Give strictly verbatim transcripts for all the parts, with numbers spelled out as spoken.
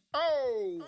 Oh.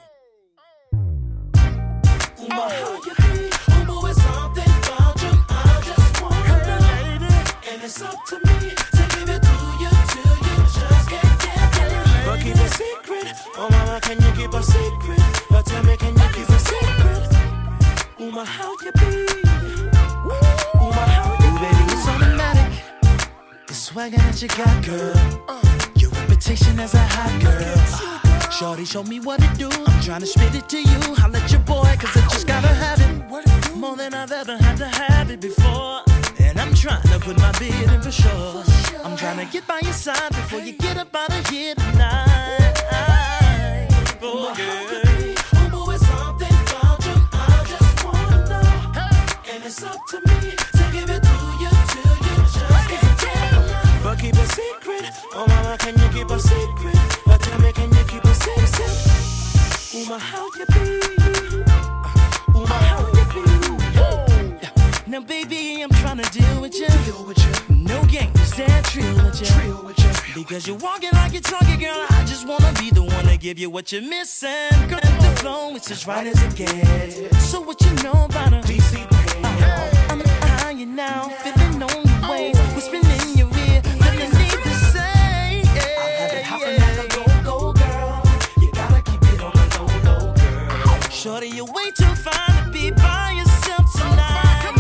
Ooh, my, how you be? Ooh, boy, it's something about you I just wanna know. And it's up to me to give it to you till you just can't get it. But keep it secret. Oh, mama, can you keep a secret? But tell me, can you keep a secret? Ooh, my, how you be? Ooh, my, how you be? Baby, it's automatic. The swagger that you got, girl. Uh, Your reputation as a hot girl. Shorty, show me what it do. I'm trying to spit it to you. I'll let your boy, cause I just gotta have it. More than I've ever had to have it before. And I'm trying to put my bid in for sure. I'm trying to get by your side before you get up out of here tonight. Oh, girl. Oh, boy, it's something about you I just wanna know. And it's up to me to give it to you till you just can't tell. But keep it secret. Oh, mama, can you keep a secret? But tell me, can you keep a secret? Ooh, my, how you be? Ooh, my, how you be? Now, baby, I'm trying to deal with you. Deal with you. No games, that trill with you. Trill with you. Because you're walking like you're talking, girl. I just wanna be the one to give you what you're missing. Girl, the flow is as right as it gets. So what you know about a D C P? Uh, I'm eyeing you now, feeling on your ways, whispering in your ear, feeling need to say. Yeah, I have it hopping like a go-go girl. You gotta keep it on the low-low, girl. Shorty, you're way too fine to be by yourself tonight.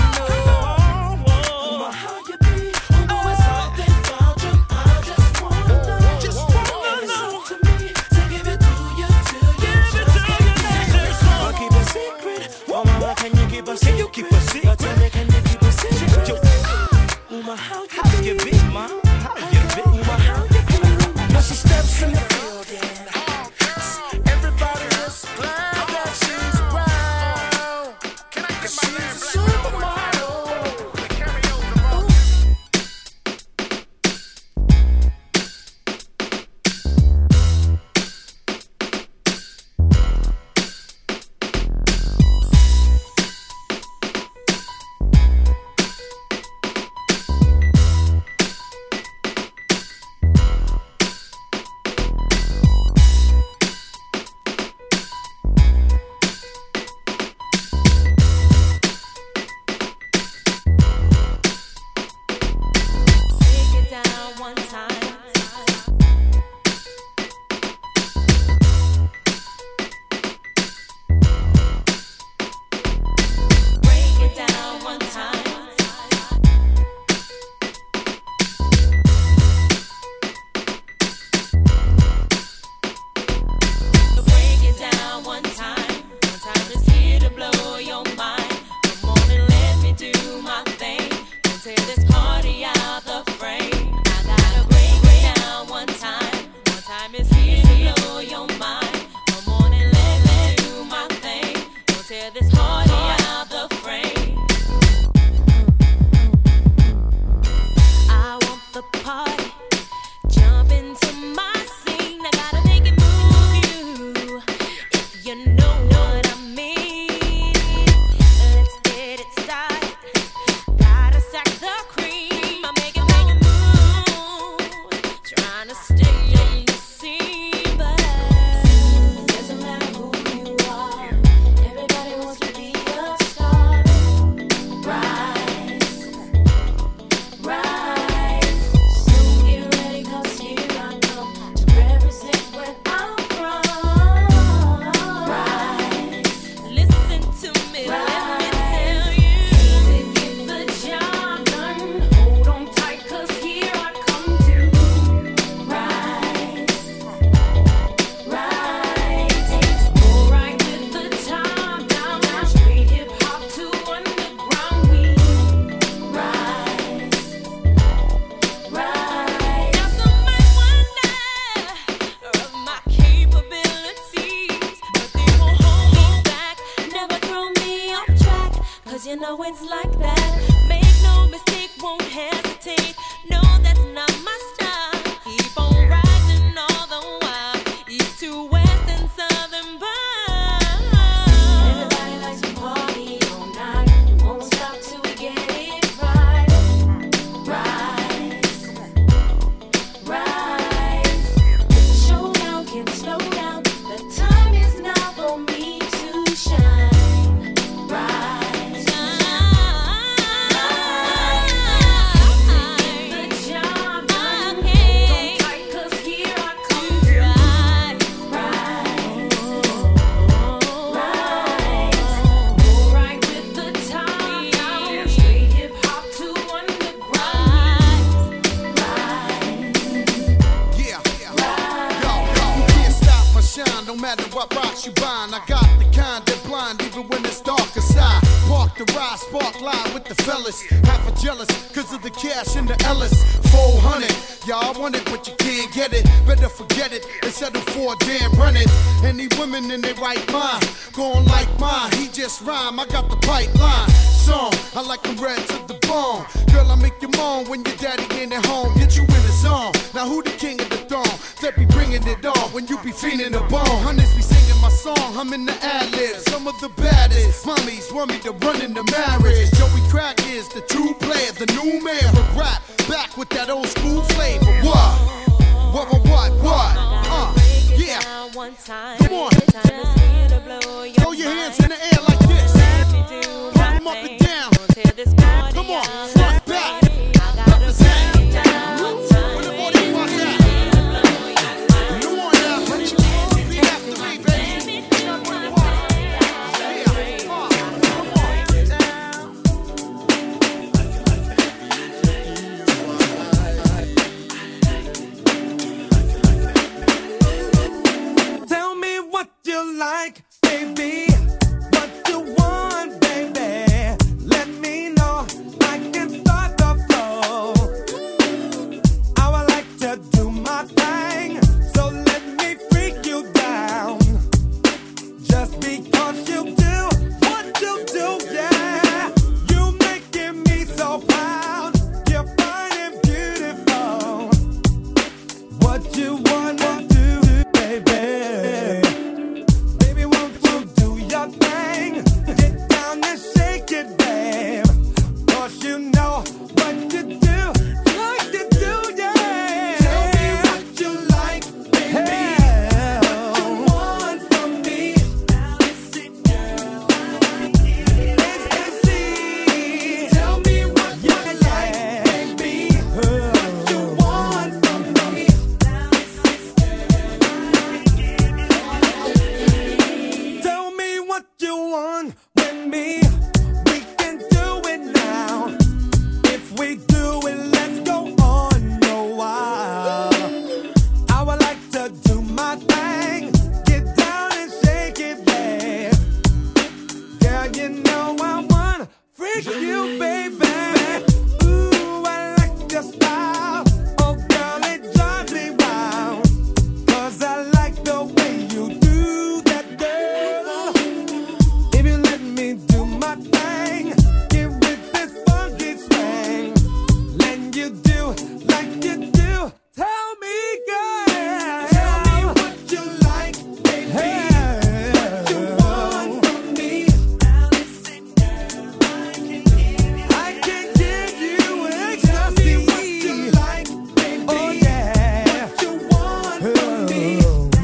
Can you keep a secret? Tell me, can you keep a secret? Yo, ooh, my, how you be, ma? How you be, ma? How you be? Now she steps in the building. Everybody is glad that she's around. Can I get my man Black supermodel? Slow down, the time no matter what rocks you buying. I got the kind that blind even when it's dark aside. Park the ride, spark line with the fellas. Half a jealous cause of the cash in the Ellis. four hundred, y'all want it but you can't get it. Better forget it and settle for a damn run it. Any women in their right mind, going like mine, he just rhyme, I got the pipeline. Song, I like them red to the bone. Girl, I make you moan when your daddy ain't at home. Get you in the zone. Now who the king of the throne? That be bringing it on when you be feeling the bone. Hunters be singing my song, I'm in the ad-libs. Some of the baddest mommies want me to run in the marriage. Joey Crack is the true player, the new man of rap. Back with that old school flavor. What? What, what, what, what? Uh, yeah. Come on. Throw your hands in the air like this. Pump them up and down. Come on. Front, back. Represent. Where the body was at? Come on now. Repeat after me, baby. Yeah. Come on. Tell me what you like, baby. What you want, baby. Let me know. I can start the flow. I would like to do my thing, so let me freak you down. Just because you do what you do, yeah. You making me so proud. You're fine and beautiful. What you wanna do, baby? Baby, won't you do your thing? Get down and shake it, babe. Cause you know what you do, like to do, yeah. Tell me what you like, baby. What you want from me. A C. Tell me what you like, baby. What you want from me. Tell me what you want with me. We can do it now. If we do it, let's go on a while. I would like to do my thing. Get down and shake it, babe. Girl, you know I wanna freak you, baby. Ooh, I like your style. Oh, girl, it drives me wild. Cause I like the way you do that, girl. If you let me do my thing, get with this funky swing. Let you do like you do. Tell me, girl. Tell me what you like, baby. What you want from me. I can give you ecstasy. What you like, baby. Oh yeah. What you want from me.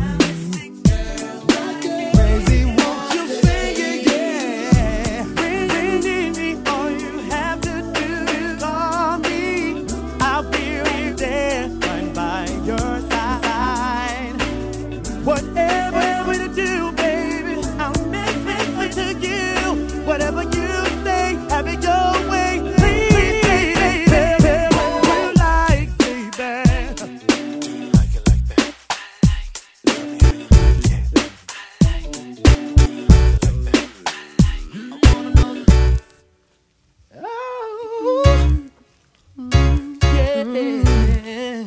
Crazy, won't you sing it, yeah. Bring me, all you have to do is call me. I'll be there, right by your side. Whatever you do, baby, I'll make it to you. Whatever you say, have it your way. Please, baby, tell me what you like, baby. Like it like that. Yeah.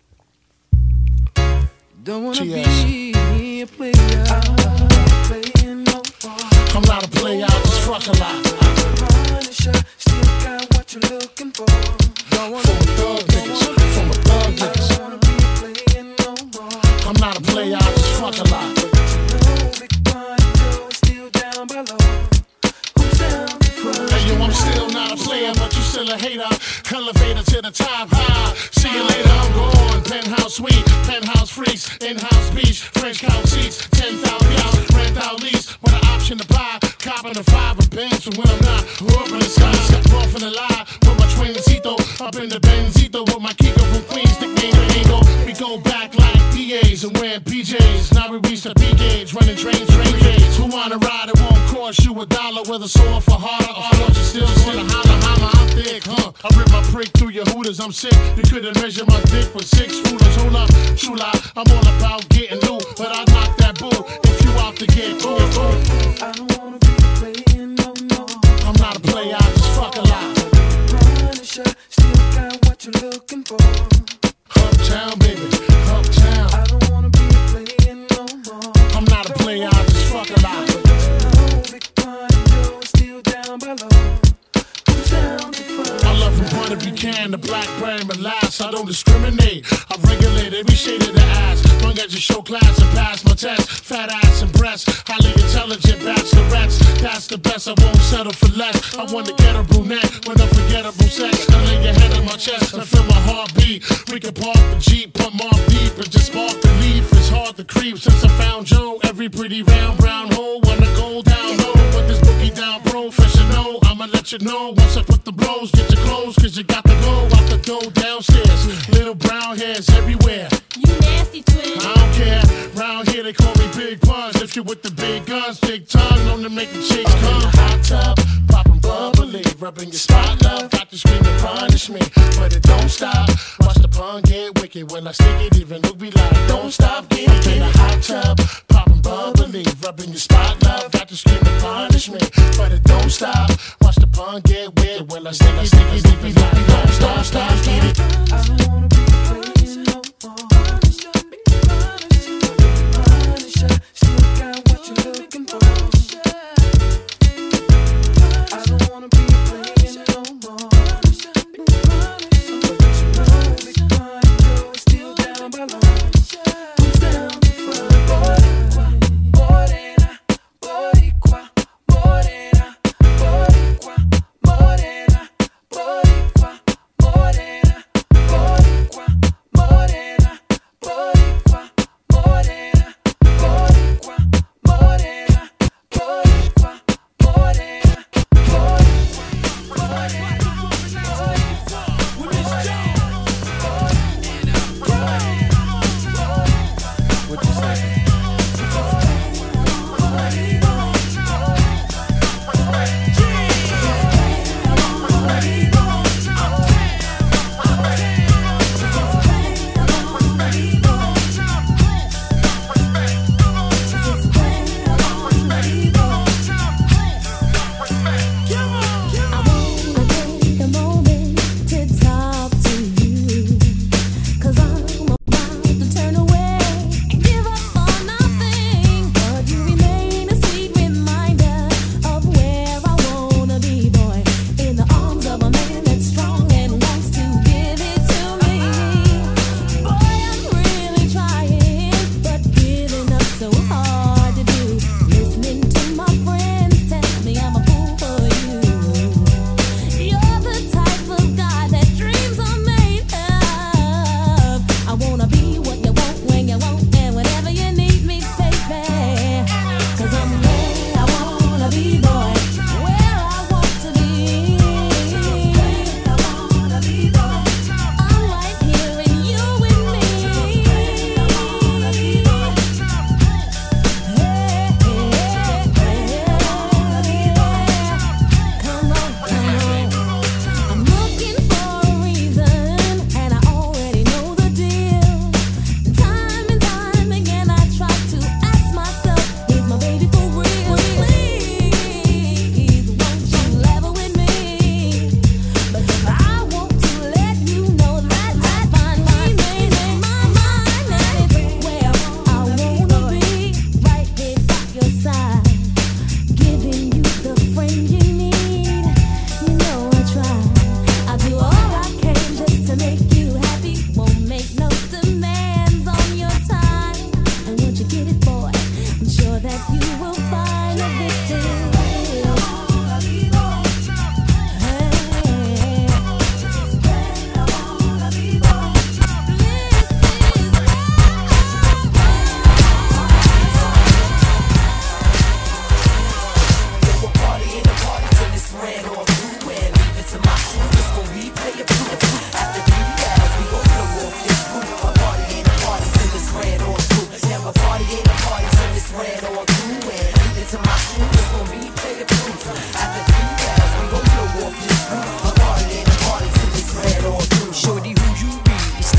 Don't wanna T S. be a player. Playing no ball. I'm not a player, I just fuck a lot. Punisher, still got what you're looking for. Don't wanna From a thug niggas, from a thug niggas. don't wanna be playing no ball. I'm not a player, I just fuck a lot. No big body Joe is still down below. Who's down before? Hey yo, I'm still not a player, but you still a hater. Elevator to the top, high. See you later, I'm gone. Penthouse suite, penthouse freaks, in-house beach, French couch seats, ten thousand out, rent out lease. With an option to buy, copping a five and Benz. And when I'm not, up in the sky, step off in the lie. With my twincito, up in the Benzito. With my Kiko from Queens, the game of Ego. We go back like D As and wearing P Js. Now we reach the B gauge, running trains, train gauge. Who wanna ride, it won't cost you a dollar. Whether sore for harder, or you still wanna holler, holler, I'm thick, huh? I rip my prick through your hooters, I'm sick. You couldn't measure my dick with six rulers. Hold up, true lie, I'm all about getting loot, but I knock that bull. about to get cool. I don't wanna be playing no more. I'm not a player, I just fuck a lot. Punisher, still got what you're looking for. Uptown, baby, uptown. I don't wanna be playing no more. I'm not a player, I just fuck a lot. No, Big Pun and Joe is still down below. Who's down to find? I love from Puerto Rican, the black brand, but last I don't discriminate. I regulate every shade of the ass. Long as you show class and pass my test. Fat ass and breasts, highly intelligent bachelorettes. That's the best, I won't settle for less. I want to get a brunette with unforgettable sex. I lay your head on my chest and feel my heartbeat. We can park the Jeep, put more deep and just spark the leaf. It's hard to creep since I found Joe. Every pretty round brown hole wanna go down low. With this boogie down professional, I'ma let you know once I put the blows. Get your clothes, cause you got to go out the door downstairs. Little brown hairs everywhere. You nasty twin. I don't care. Round here they call me Big Puns. If you with the big guns, big tongue, known to make the chicks come. Hot tub, poppin' bubbly, rubbing your spot, love. Got to scream and punish me, but it don't stop. Watch the pun get wicked when I stick it. Even Luke be like, don't stop, get it. In a hot tub, poppin' bubbly, rubbing your spot, love. Got to scream and punish me, but it don't stop. Watch the pun get wicked when I stick it. Stick it, it be like, don't stop, stop, get it. I don't wanna be playing no more. Punisher, still got what you're looking for. I don't wanna be playing no more. Big Pun and Joe is still down below. Who's down to find? Morena, Boricua, Morena, Boricua, Morena, Boricua, Morena, Boricua, Morena, Boricua, Morena, Boricua, Morena, Boricua, Morena, what you say?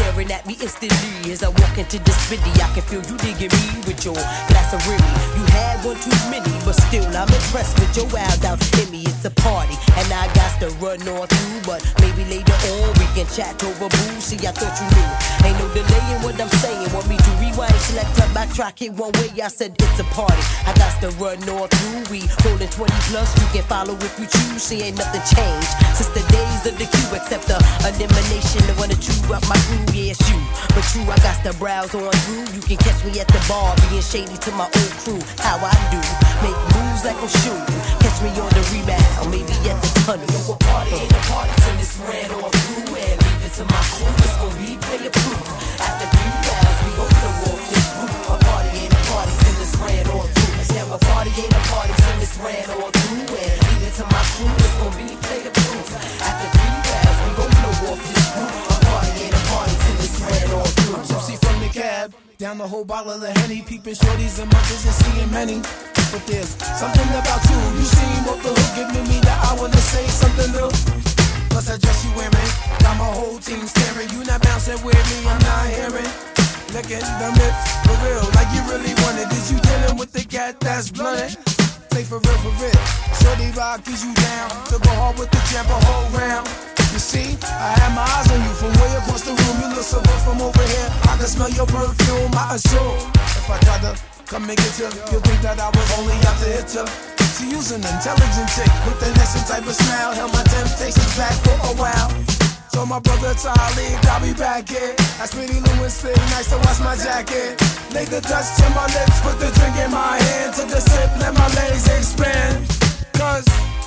Instantly, as I walk into the city, I can feel you digging me with your glass of Remy. You have one too many, but still I'm impressed with your wild out in me. It's a party, and I got to run on through, but maybe later on we can chat over booze. See, I thought you knew. Ain't no delay in what I'm saying. Want me to rewind, select up, backtrack it one way? I said it's a party. I got to run on through. We rolling twenty plus. You can follow if you choose. See, ain't nothing changed since the days of the queue, except the elimination of one or two up my crew. Yeah, it's you, but true, I got to browse on through. You can catch me at the bar, being shady to my old crew. How I do, make moves like I'm shooting. Catch me on the rebound, maybe at the tunnel. Yo, a party ain't a party till it's ran on through. And leave it to my crew, it's gon' be player proof. After three rounds, we gon' blow off this roof. A party ain't a party till it's ran on through. Yeah, a party ain't a party till it's ran on through. And leave it to my crew, it's gon' be player proof. After three rounds, we gon' blow off this roof. A party ain't a party till it's ran on through. I'm tipsy from the cab, down the whole bottle of Henny, peeping shorties in my vision, seeing many. But there's something about you, you seem off the hook, giving me the I wanna say something new. Plus I dress you wearing, got my whole team staring. You not bouncing with me, I'm not hearing. Licking the lips, for real, like you really want it. Did you dealing with the cat that's blunted? Say for real, for real. Shorty rock, is you down to go hard with the jump a whole round. You see, I had my eyes on you from way across the room. You look so good from over here. I can smell your perfume, I assume. If I try to come and get you, you'll think that I was only out to hit you. She use an intelligent chick with an innocent type of smile. Held my temptations back for a while. So my brother Charlie got me back here. That's Pretty Lewis, fit nice to wash my jacket. Laid the dust to my lips, put the drink in my hand. Took a sip, let my legs expand. Cause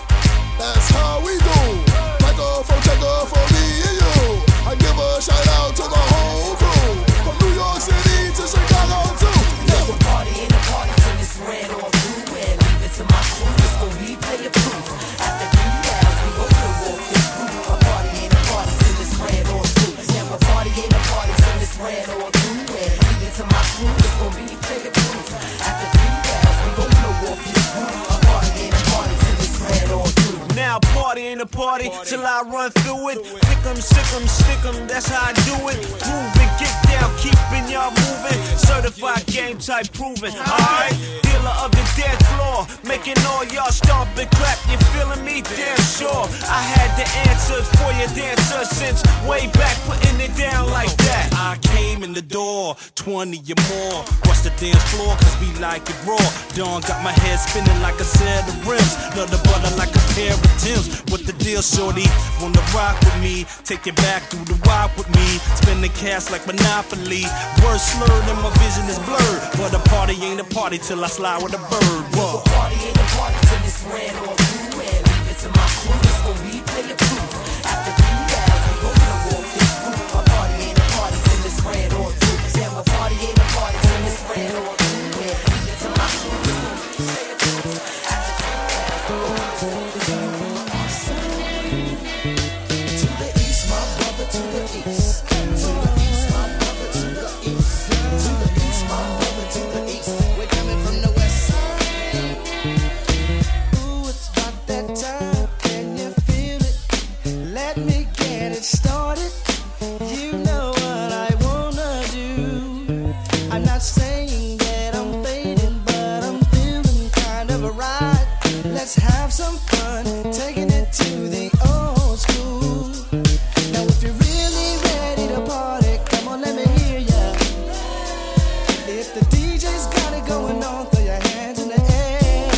that's how we do. Take off, oh, take off for me and you. I give a shout out to the whole crew. From New York City to Chicago too. Yeah. A party ain't a party till it's ran on through. And leave it to my crew, it's gon' be player proof. After three rounds, we gon' blow off this roof. A party ain't a party till it's ran on through. Yeah, a party ain't a party till it's ran on through. And leave it to my crew, it's gon' be player proof. After three rounds, we gon' blow off this roof. A party ain't a party till it's ran on through. Now party ain't a party till I run through it. Pick 'em, sick 'em, stick 'em, that's how I do it. Move it, get down, keeping y'all moving. Certified game type proven, alright? Dealer of the dead floor, making all y'all stomp and clap. You feeling me? Damn sure. I had the answers for your dancer since way back, putting it down like that. I came in the door, twenty or more. Bust the dance floor, cause we like it raw. Dawn got my head spinning like a set of rims. Love the butter like a pair of Tim's. What the deal, shorty? Wanna rock with me? Take it back through the walk with me. Spending cash like Monopoly. Words slurred and my vision is blurred. But a party ain't a party till I slide with a bird. Whoa. A party ain't a party till it's ran on through. And leave it to my crew, it's gon' be player proof. After three rounds, we gon' blow off this roof. A party ain't a party till it's ran on through. Yeah, a party ain't a party till it's ran on through. And leave it to my crew, it's gon' be player proof. After three rounds, we gon' blow off this roof. To the east, my brother, to the east. To the east, my brother, to the east. To the east, my brother, to the east. We're coming from the west side. Ooh, it's about that time. Can you feel it? Let me get it started. You know what I wanna do. I'm not saying that I'm fading, but I'm feeling kind of a ride. Let's have some fun, taking it to the old school. Now if you're really ready to party, come on, let me hear ya. If the D J's got it going on, throw your hands in the air.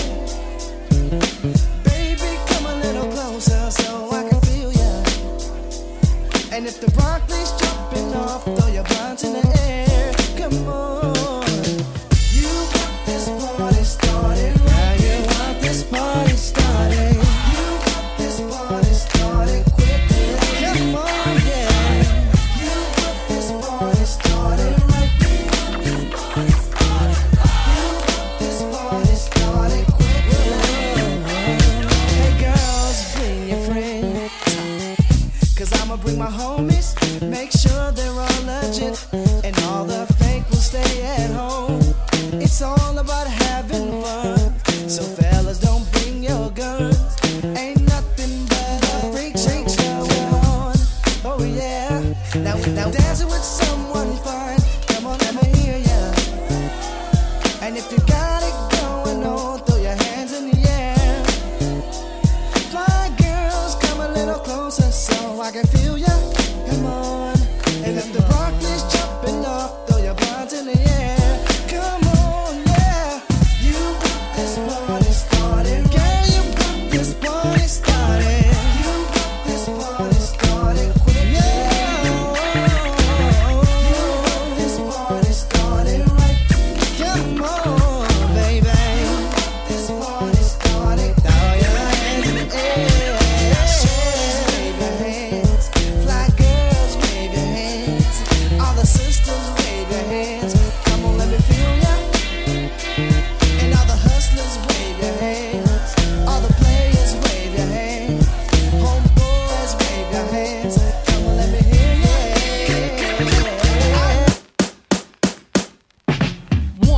Baby, come a little closer so I can feel ya. And if the broccoli's jumping off, throw your blinds in the air. Come on. You got this party started right. Now you want this party started. You got this party started quickly. Come on, yeah. You got this party started right. You got this party started. You got this party started quickly. Hey girls, bring your friends. Cause I'ma bring my homies. Make sure they're all legit. And all the fake will stay at home. It's all about having fun. So fellas, don't bring your guns. Ain't nothing but a freak freak show on. Oh yeah. Now, now dancing with someone fine. Come on, let me hear ya. And if you got it going on,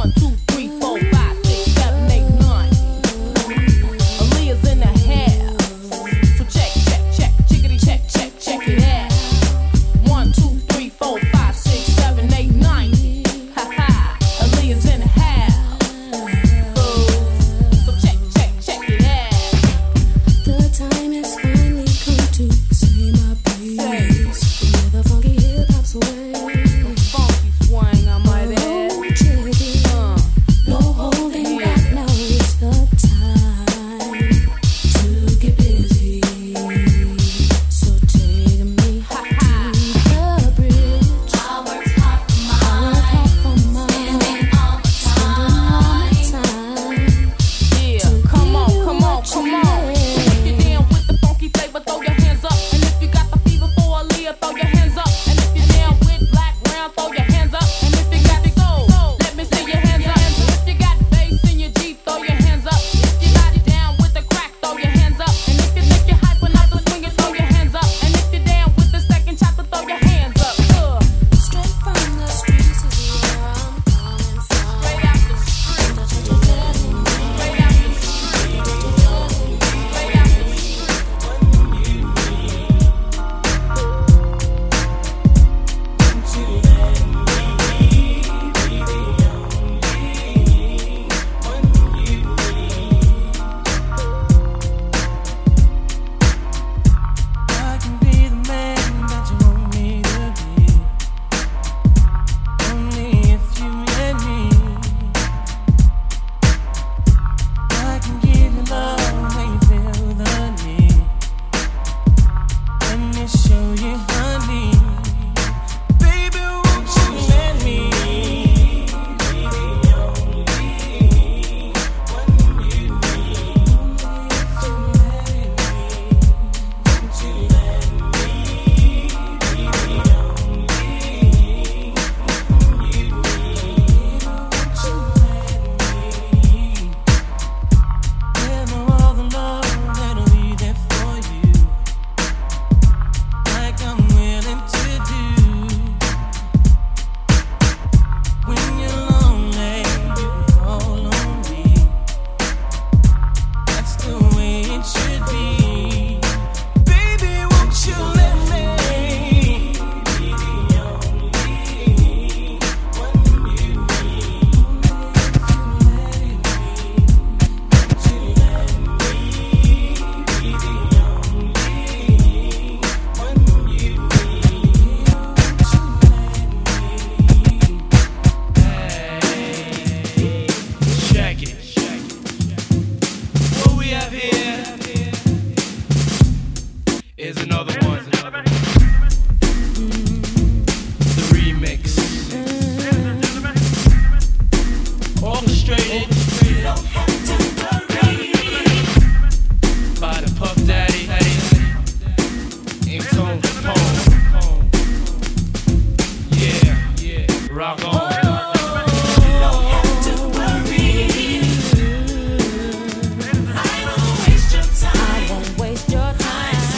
One, two, three, four, five, six, seven, eight, nine. Aaliyah's in the house. So check, check, check, chickity, check, check, check it out. One, two, three, four, five, six, seven, eight, nine. Ha ha. Aaliyah's in the house. So check, check, check it out. The time has finally come to say my piece. Where the funky hip hop's away. Funky swing, I might add. Oh, check it. Uh, No holding back, now it's the time to get busy. So take me to the bridge. I work hard for mine. Spending all my time. yeah, come on, come on, come on. If you're down with the funky flavor, throw your hands up. And if you got the fever for Aaliyah, throw your hands up. And if you're down with black brown, throw your hands up. And if you got the soul, let me see your hands up. If you got bass in your Jeep, throw your hands up. If you got it down with the crack, throw your hands up. And if you think you're hyping up the swing, throw your hands up. And if you're down with the second chopper, throw your hands up. Uh, Straight from the streets is where I'm coming from. straight out the street, That you're letting me. straight out the street, straight out the street. I can be the man that you want me to be. Only if you let me. I can give you love when you feel the need. Let me show you honey. Baby, won't you let me? Be the only one you need. Only if you let me. Won't you let me be the only one you need? Won't you let me? Give me all the love that'll be there for you, like I'm willing to do. When you're lonely, you can call on me. That's the way it should be. Baby, won't you let me be the only one you need? If you let me, won't you let me be the only one you need? Won't you let me? Check it. What we have here is another one. The remix. Orchestrated by the Puff Daddy and Tone Capone. Yeah, yeah, rock on. I won't waste your time.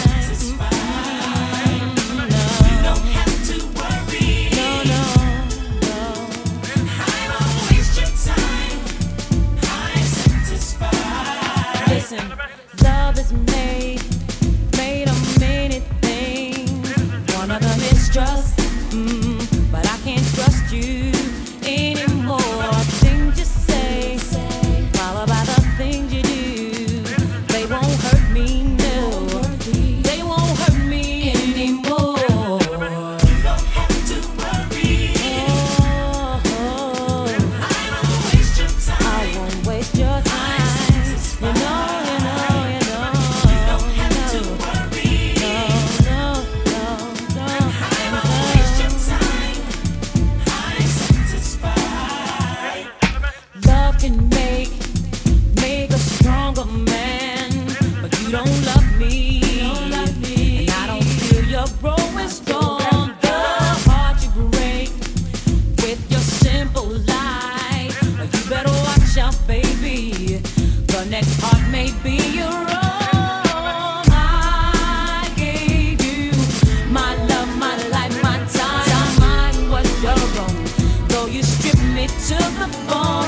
Listen, love is made, made of many things. One of them is trust, mm, but I can't trust you anymore. Things you say, followed by the things you do, they won't hurt me, no. They won't hurt me anymore. You don't have to worry. Oh, oh. I won't waste your time. I won't waste your time. You know, you know, you know. You don't have to worry. No, no, no, no. I won't waste your time. I'm satisfied. Love can make, make a stronger man, but you don't love me. And I don't feel you're growing strong. The heart you break with your simple lie. You better watch out, baby. The next heart may be your own. I gave you my love, my life, my time. Mine was your own. Though you stripped me to the bone.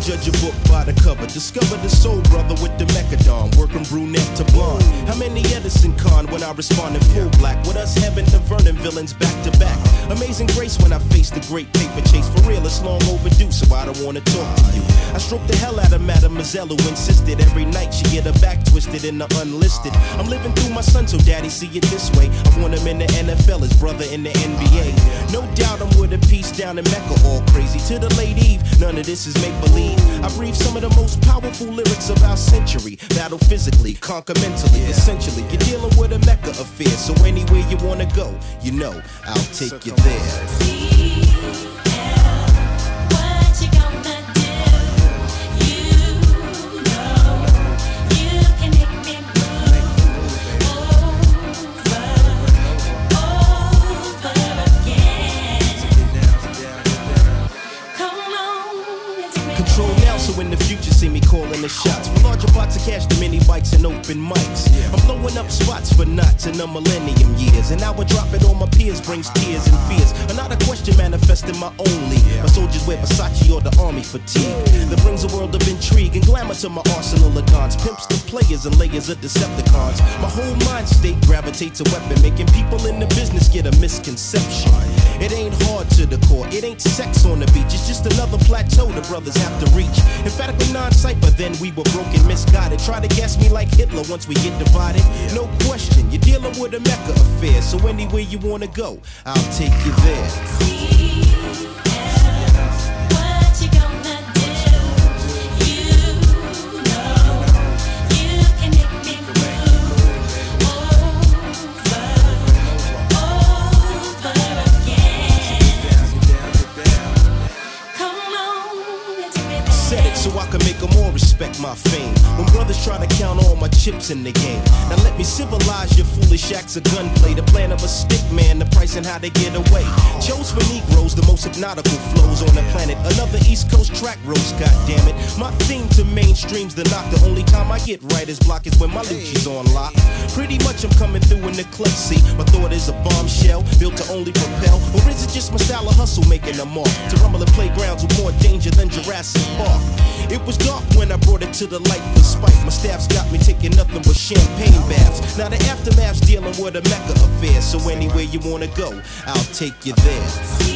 judge a book by the cover. Discover the soul brother with the mechadon, working brunette to blonde. How many Edison Con when I respond in full black? With us Heaven to Vernon villains back to back. Amazing grace when I face the great paper chase. For real, it's long overdue, so I don't wanna talk to you. I stroke the hell out of Mademoiselle who insisted every night she get her back twisted in the unlisted. I'm living through my son, so daddy see it this way. I want him in the N F L, his brother in the N B A. No doubt I'm with a piece down in Mecca, all crazy. To the late Eve, none of this is make-believe. I breathe some of the most powerful lyrics of our century. Battle physically, conquer mentally, essentially. You're dealing with a Mecca affair, so anywhere you wanna go, you know, I'll take you there. In the future, see me calling the shots for larger pots of cash, the mini bikes and open mics. I'm blowing up spots for knots in the millennium years, and now I drop it on my peers brings tears and fears. Another question manifesting my only. My soldiers wear Versace or the army fatigue that brings a world of intrigue and glamour to my arsenal of guns. Pimps the players and layers of Decepticons. My whole mind state gravitates a weapon, making people in the business get a misconception. It ain't hard to the core, it ain't sex on the beach. It's just another plateau the brothers have to reach. Emphatically non-cypher, then we were broken, misguided. Try to gas me like Hitler once we get divided. No question, you're dealing with a Mecca affair. So anywhere you wanna go, I'll take you there. So I can make them all respect my fame. When brothers try to count all my chips in the game. Now let me civilize your foolish acts of gunplay. The plan of a stick man, the price and how they get away. Chose for Negroes, the most hypnotical flows on the planet. Another East Coast track roast, goddammit. My theme to mainstream's the knock. The only time I get writer's block is when my Lucci's on lock. Pretty much I'm coming through in the clutch seat. My thought is a bombshell, built to only propel. Or is it just my style of hustle making a mark? To rumble in playgrounds with more danger than Jurassic Park. It was dark when I brought it to the light for spite. My staff's got me taking nothing but champagne baths. Now the aftermath's dealing with a Mecca affair. So anywhere you wanna go, I'll take you there.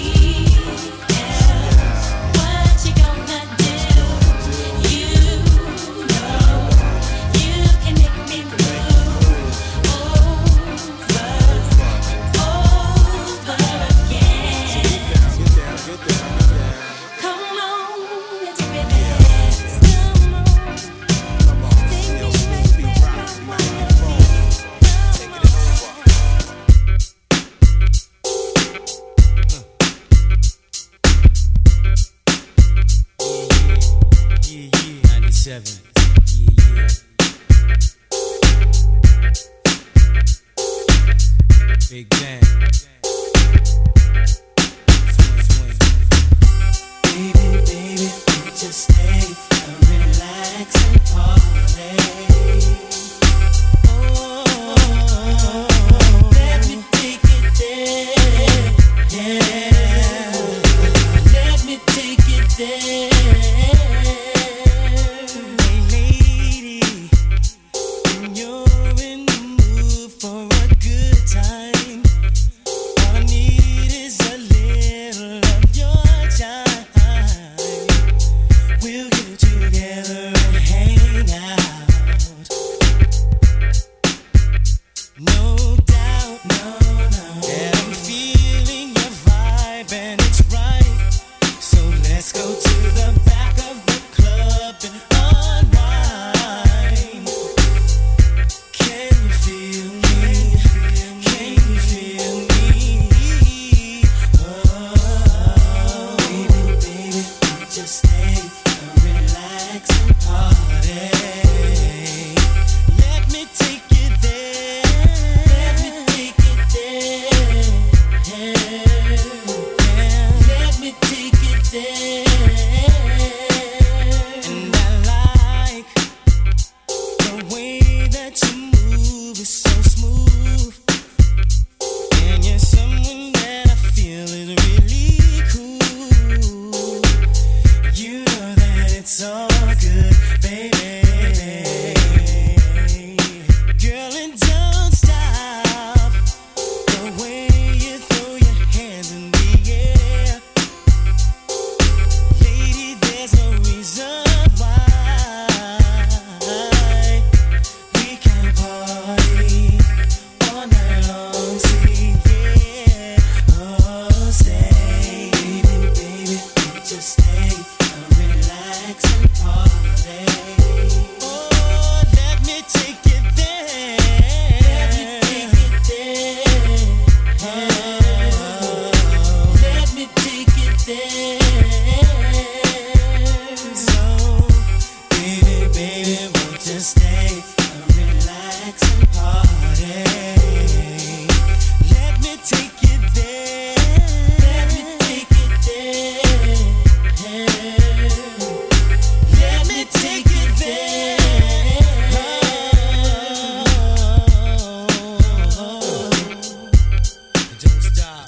Big Bang. Swing, swing. Baby, baby, just stay and relax and party. Oh, let me take it there. Yeah, let me take it there. Hey, lady, when you're in the mood for a good time,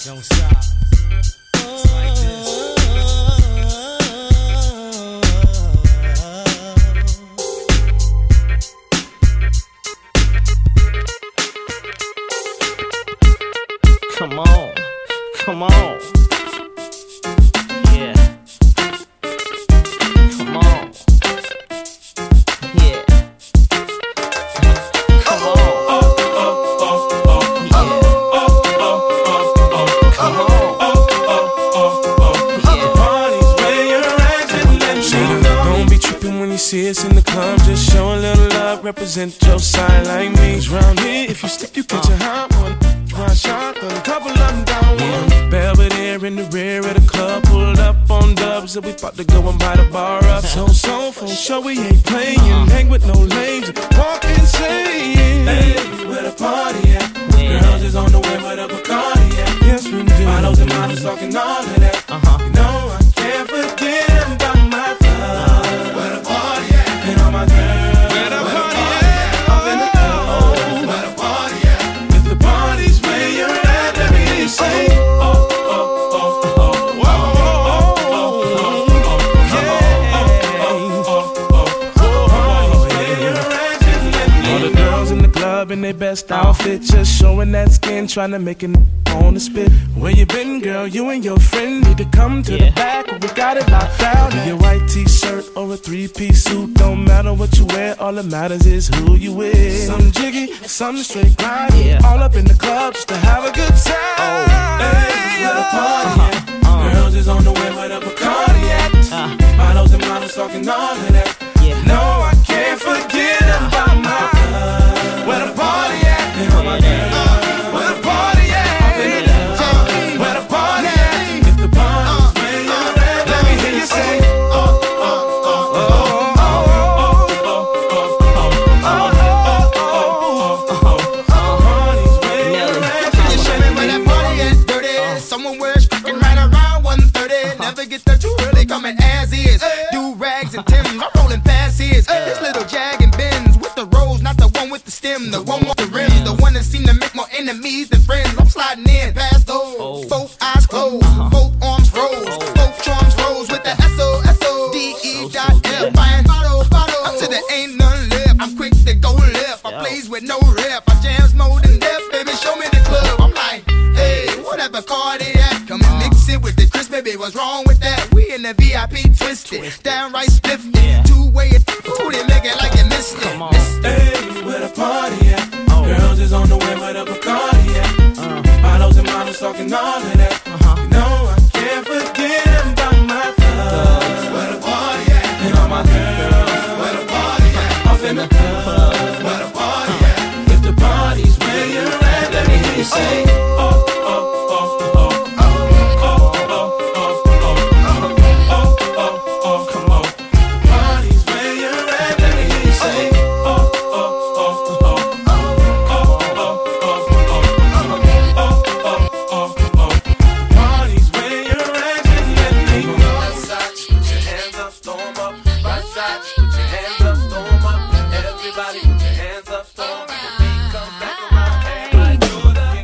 Don't stop. It's like this. Come on, come on. Yeah. Come on. Yeah. Come on. Oh, oh, oh, oh, yeah. Oh, oh, oh, oh, come on. Oh, oh, oh, oh, yeah. The party's where you're at, just let me know. Don't be tripping when you see us in the club. Just show a little love, represent your side like me. 'Cause round here, if you slip, you catch a hot one. One shot, a couple of them down one. Belvedere in the rear of the club, pulled up on dubs, and we about to go and buy the bar up. So, so, for sure we ain't playing. Hang with no lames, walk insane. Hey, where the party at? Girls is on the way with a Bacardi at. Yes, we do. Models and models talking all of that. Uh-huh. You know I can't forget about my love. Where the party at? And all my girls. Where the party at? Up in the club. Where the party at? If the party's where you're at, let me hear you say, oh, oh, oh, oh, oh, oh, oh, yeah. All the girls in the club in their best outfit, just showing that skin, trying to make it on the spit. Where you been, girl? You and your friend need to come to yeah. the back. We got it locked down. In your white t-shirt or a three-piece suit, don't matter what you wear. All that matters is who you with. Some jiggy, some straight grind. Yeah. All up in the club just to have a good time. Oh. Hey, where the party at? Uh, uh. Girls is on the way with a Bacardi at. Uh. Models and models talking all of that. Yeah. No, I can't forget about my love. Where the party at? And all my girls. Uh, where the party at? Up in the club. Where the party at? If the party's where you're at, let me hear you say, oh, oh, oh, oh, oh, oh, oh, oh, oh, oh, oh, party's where you're at. Can you show me where that party at? Dirty. Someone wears fucking right around one thirty. Never get there too early, coming as is. Do rags and Timbs, I'm rolling past his. This little Jag and Benz with the rose, not the one with the stem, the one with the rims, the one that seem to make more enemies than friends. I'm sliding in past those, both eyes closed, both arms rose, both charms rose with the S O S O D E dot F. Buying bottle, bottle, until there ain't none left. I'm quick to go left. I plays with no rep. I jams more than death, baby. Show me the club. I'm like, hey, whatever car they at, come and mix it with the crisp, baby. What's wrong with that? We in the V I P twisted, downright spiffed. Two way it, ooh, they make it like you missed it. Hey, where the party at? Oh. Girls is on the way with a Bacardi at. Uh. Models and models talking all of that. Uh-huh. You know I can't forget about my thugs. Where the party at? And all my girls. Where the party at? Off in the club. Where the party at? If the party's where you're at, let me hear you say, oh, oh, oh, oh, oh, oh, oh, oh, oh, oh, oh, come on. The party's where you're at, let me hear you say, oh, oh, oh, oh, oh, oh, oh, oh, oh, oh, oh. The party's where you're at, just let me know. Left side, put your hands up, throw 'em up. Right side, put your hands up, throw 'em up. Everybody put your hands up, throw 'em up. The beat comes back around, everybody do it again.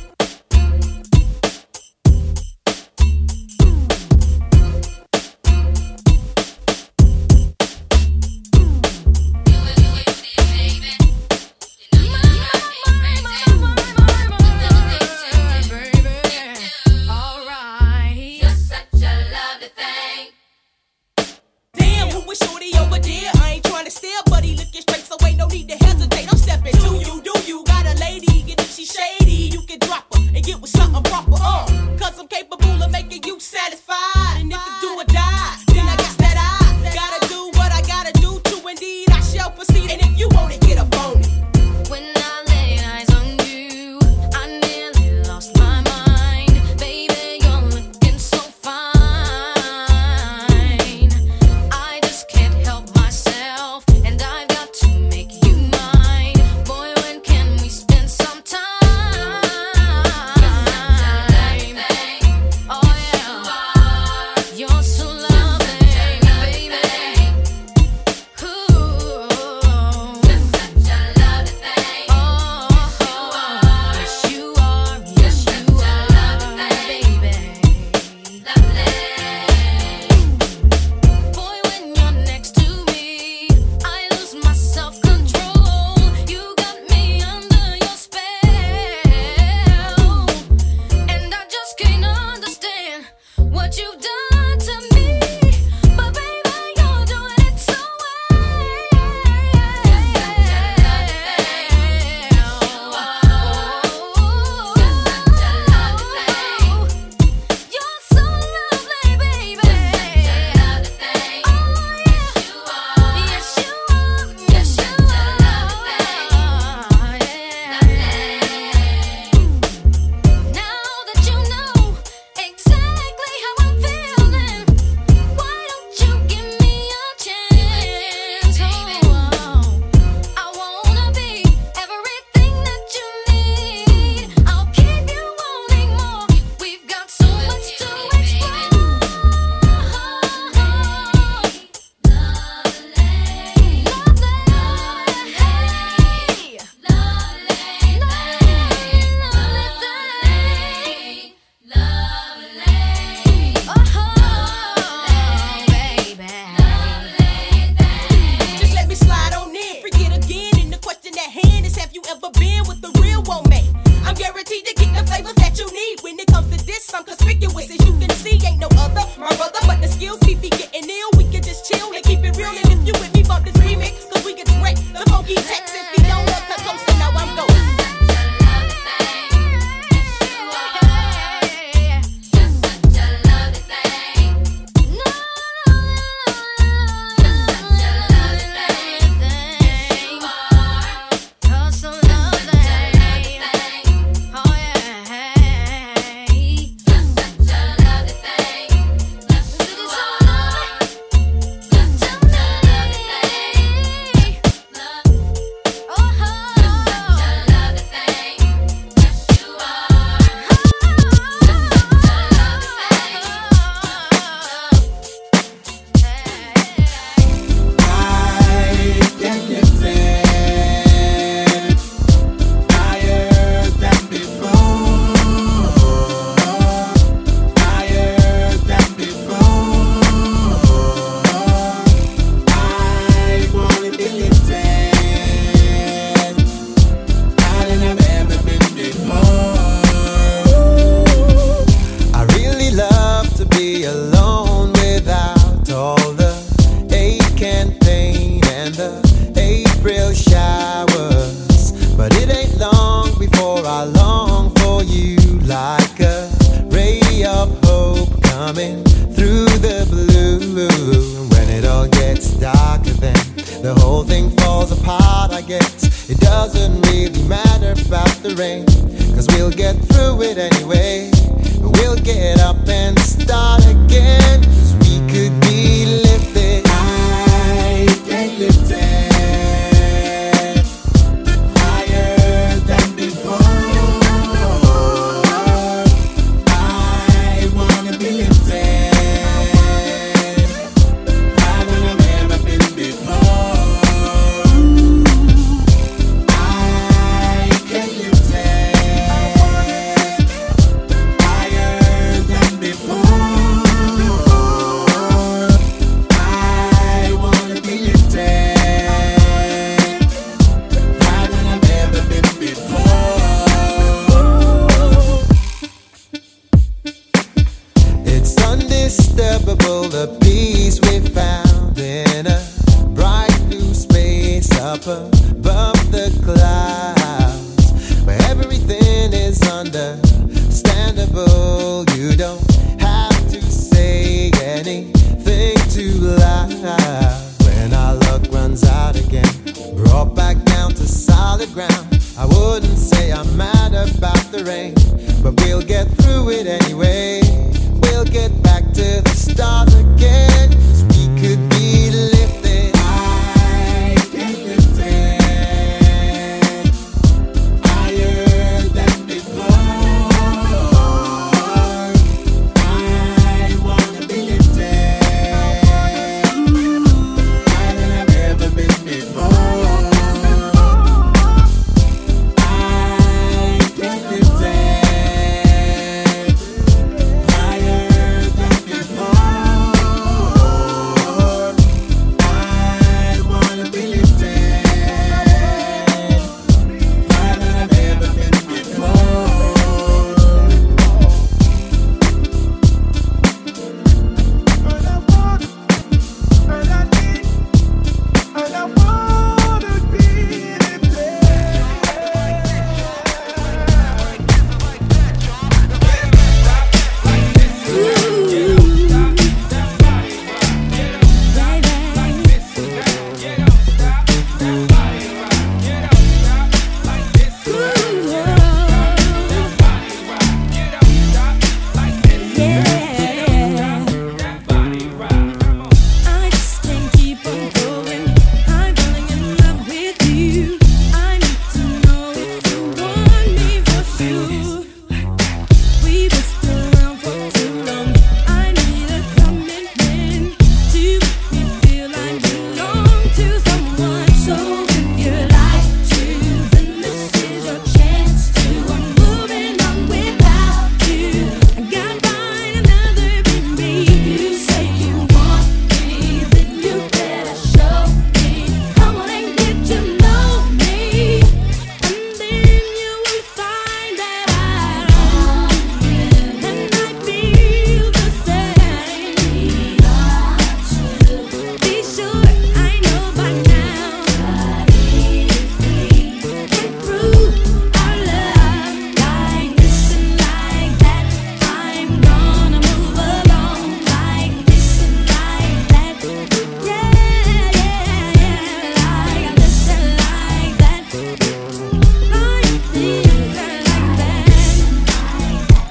Damn, who was shorty over there? I ain't trying to steal, but he looking straight, so ain't no need to hesitate. I'm stepping to you, do you got a lady? And if she shady, you can drop her and get with something proper. Uh, cause I'm capable of making you satisfied. And if it's do or die, then I guess that I gotta do what I gotta do to indeed I shall proceed. And if you want it, get up on it. When I laid eyes on you, I nearly lost my mind. Baby, you're looking so fine. I just can't help myself, and I've got to make you mine. Boy, when can we spend some time? anyway. We'll get up and start again, 'cause we could be lifted. I get lifted higher than before. I wanna be lifted higher than I've ever been before. I get lifted higher than before. I wanna be lifted higher than I've ever been before. It's undisturbable, the peace we found in a bright blue space up above the clouds, where everything is understandable. You don't have to say anything too loud. When our luck runs out again, brought back down to solid ground, I wouldn't say I'm mad about the rain, but we'll get through it anyway. We'll get back to the start again, 'cause we could be lifted. I get lifted higher than before. I wanna be lifted higher than I've ever been before. I get lifted higher than before. I wanna be lifted higher than I've ever been before. I just can't keep on going. I'm falling in love with you. I need to know if you want me for sure. We were still around for too long. I need a commitment to make me feel I belong to someone. So if you like to, then this is your chance to. I'm moving on without you. I gotta find another baby. You say you want me, then you better show me. Come on and get to know me, and then you will find that I want you, and I feel the same. Be sure I know by now that if we can prove our love like this and like that, I'm gonna move along like this and like that. Yeah, yeah, yeah, like this and like that, like this and like that.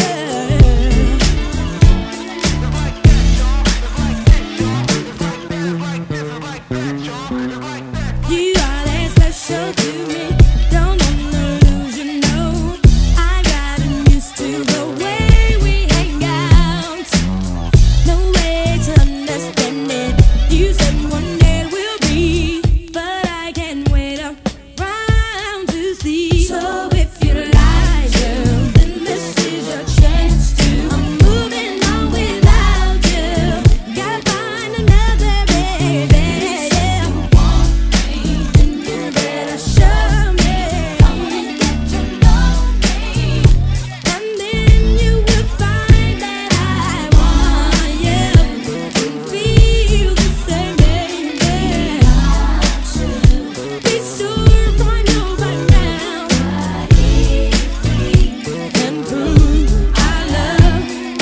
You are that special to me. Don't wanna lose you, no. I've gotten used to the way we hang out. No way to understand it. You said one day we'll be, but I can't wait around to see. So if you like, girl, then this is your chance to. I'm moving on without you. Gotta find another baby. Yeah. Then you better show me. Come and get to know me, and then you will find that I want you, and feel the same, baby. Be sure I know by now that if we can prove our love.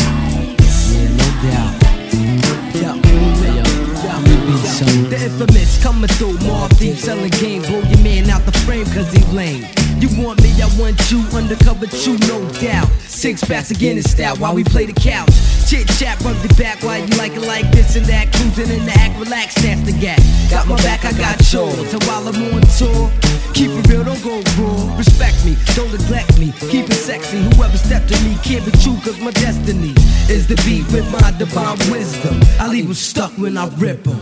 The infamous coming through, Mob Deep selling game, blow your man out the frame cause he lame. You want me, I want you, undercover you, no doubt. Six packs again in style while we play the couch. Chit chat, rub the back while you like it like this and that. Cruising in the act, relax, snap the gap. Got my back, I got yours. So while I'm on tour, keep it real, don't go raw. Respect me, don't neglect me. Keep it sexy. Whoever stepped to me can't be true, cause my destiny is the beat with my divine wisdom. I leave them stuck when I rip them.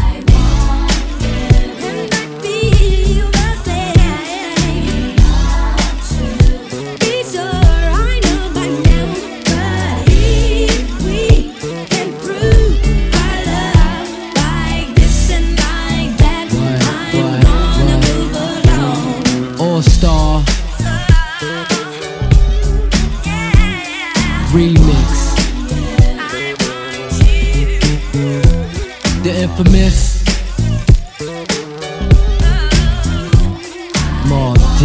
All-Star Remix. The infamous Mark D.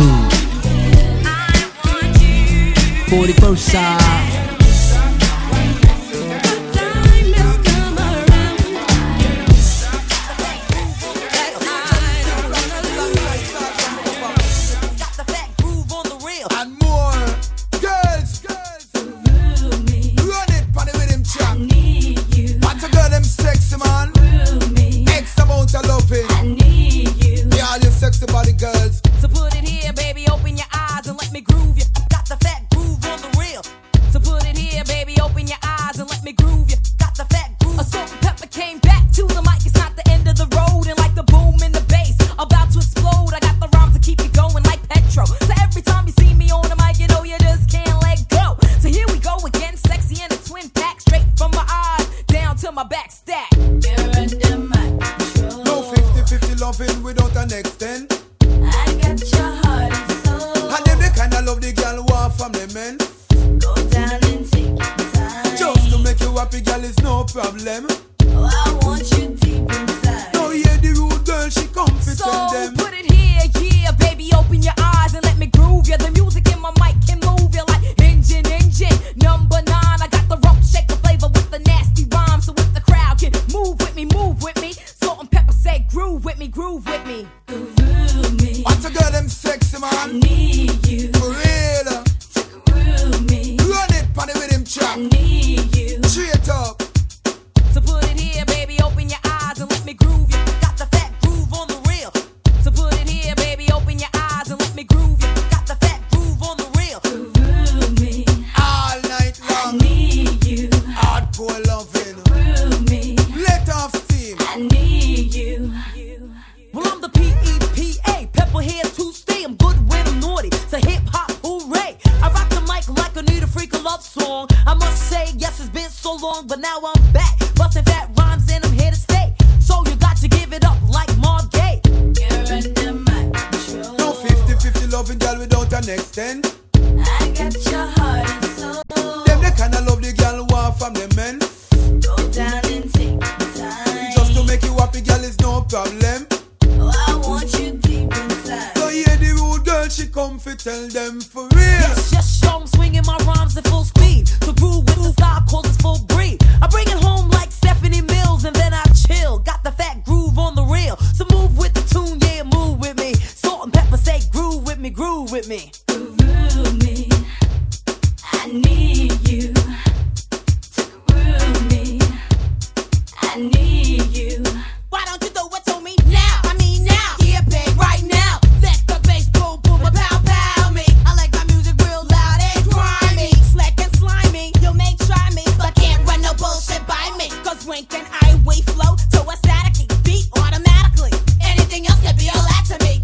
forty-first side.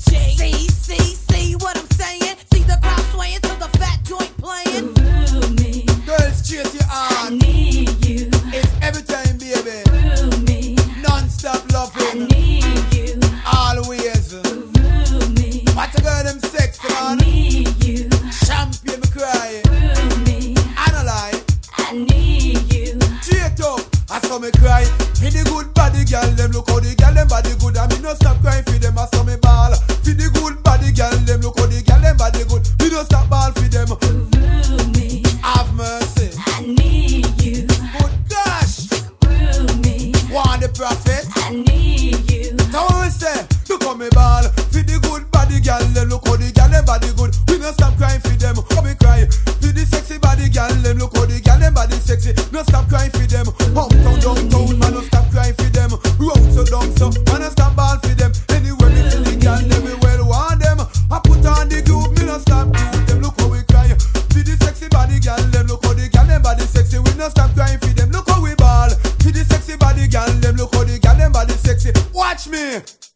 See, see, see what I'm saying? See the crowd swaying to the fat joint playing. sexy. No stop crying for them. Uptown, downtown, man, no stop crying for them. Road so down so, man, no stop ball for them. Anywhere me see the girl, them me well want them. I put on the groove, me no stop groove them. Look how we cry. See the sexy body girl, them look how the girl them body sexy. We no stop crying for them. Look how we ball. See the sexy body girl, them look how the girl them body sexy. Watch me.